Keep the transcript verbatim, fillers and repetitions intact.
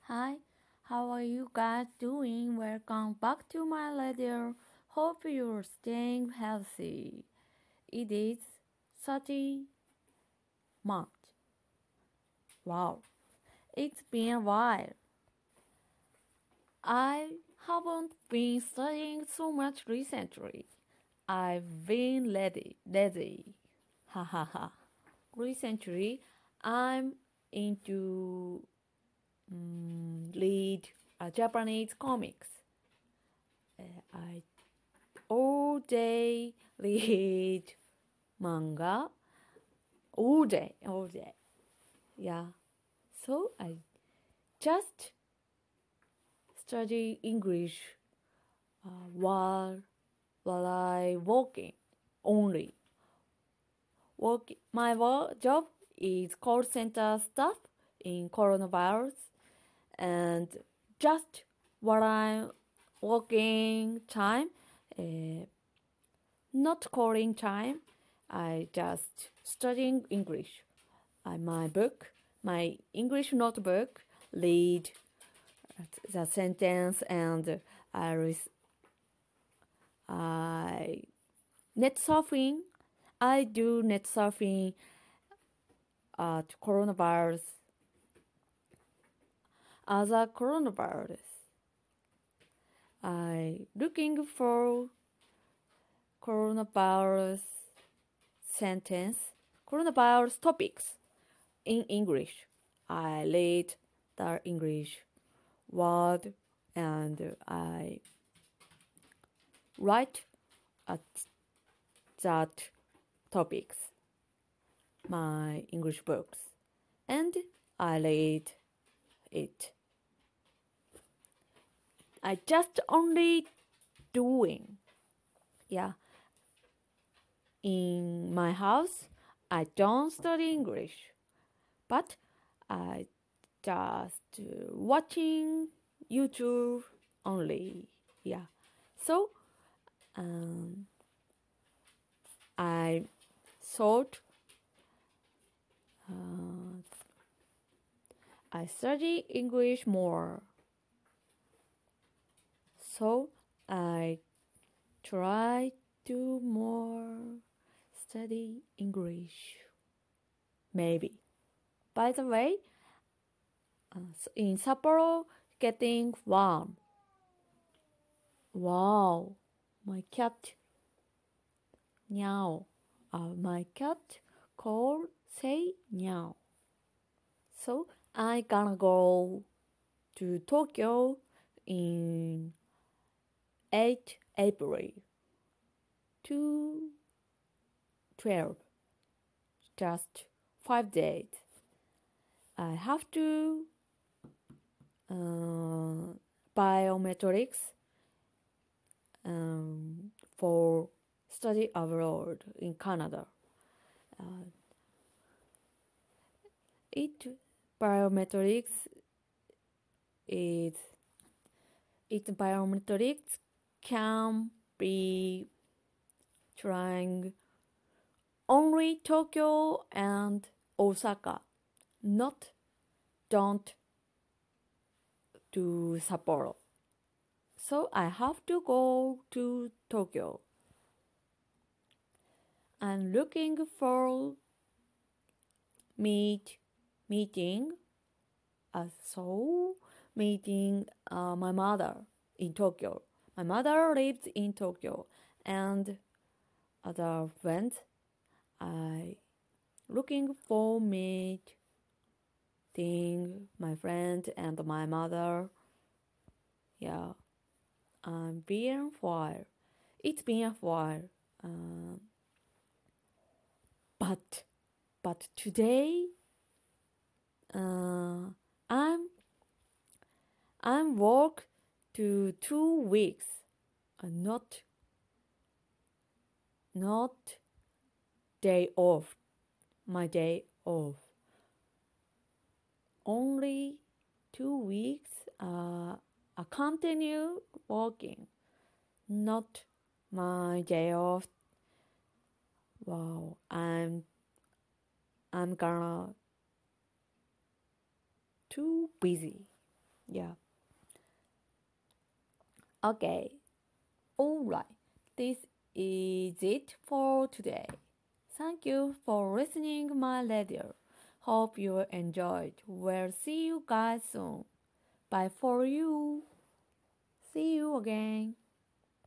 Hi, how are you guys doing? Welcome back to my radio. Hope you're staying healthy. It is thirty March. Wow, it's been a while. I haven't been studying so much recently. I've been lazy. lazy. Ha ha ha. Recently, I'm into mm, read uh, Japanese comics. Uh, I all day read manga. All day, all day. Yeah. So I just study English uh, while while I working only. Work my work job is call center staff in coronavirus, and just while I'm working time, uh, not calling time, I just studying English. I, my book, my English notebook, read the sentence, and I, res- I net surfing. I do net surfing at coronavirus. As a coronavirus, I looking for coronavirus sentence, coronavirus topics in English. I read the English word and I write at that topics, my English books, and I read it. I just only doing, yeah. In my house, I don't study English, but I just uh, watching YouTube only, yeah. So um, I thought uh, I study English more. So I try to more study English. Maybe. By the way, uh, in Sapporo, getting warm. Wow, my cat meow. Uh, my cat call say meow. So I gonna go to Tokyo in eighth April to twelve, just five days. I have to uh, biometrics um, for study abroad in Canada. Uh, it biometrics is it biometrics can be trying only Tokyo and Osaka, not don't to Sapporo. So I have to go to Tokyo. I'm looking for meet meeting uh, so meeting uh, my mother in Tokyo. My mother lives in Tokyo, and other friends I looking for meeting my friend and my mother. Yeah, I'm been a while. It's been a while. Um, but but today uh, I'm I'm work to two weeks. Uh, not not day off. My day off. Only two weeks. Uh, I continue working. Not my day off. Wow, I'm I'm gonna too busy. Yeah. Okay. Alright. This is it for today. Thank you for listening my radio. Hope you enjoyed. We'll see you guys soon. Bye for you. See you again.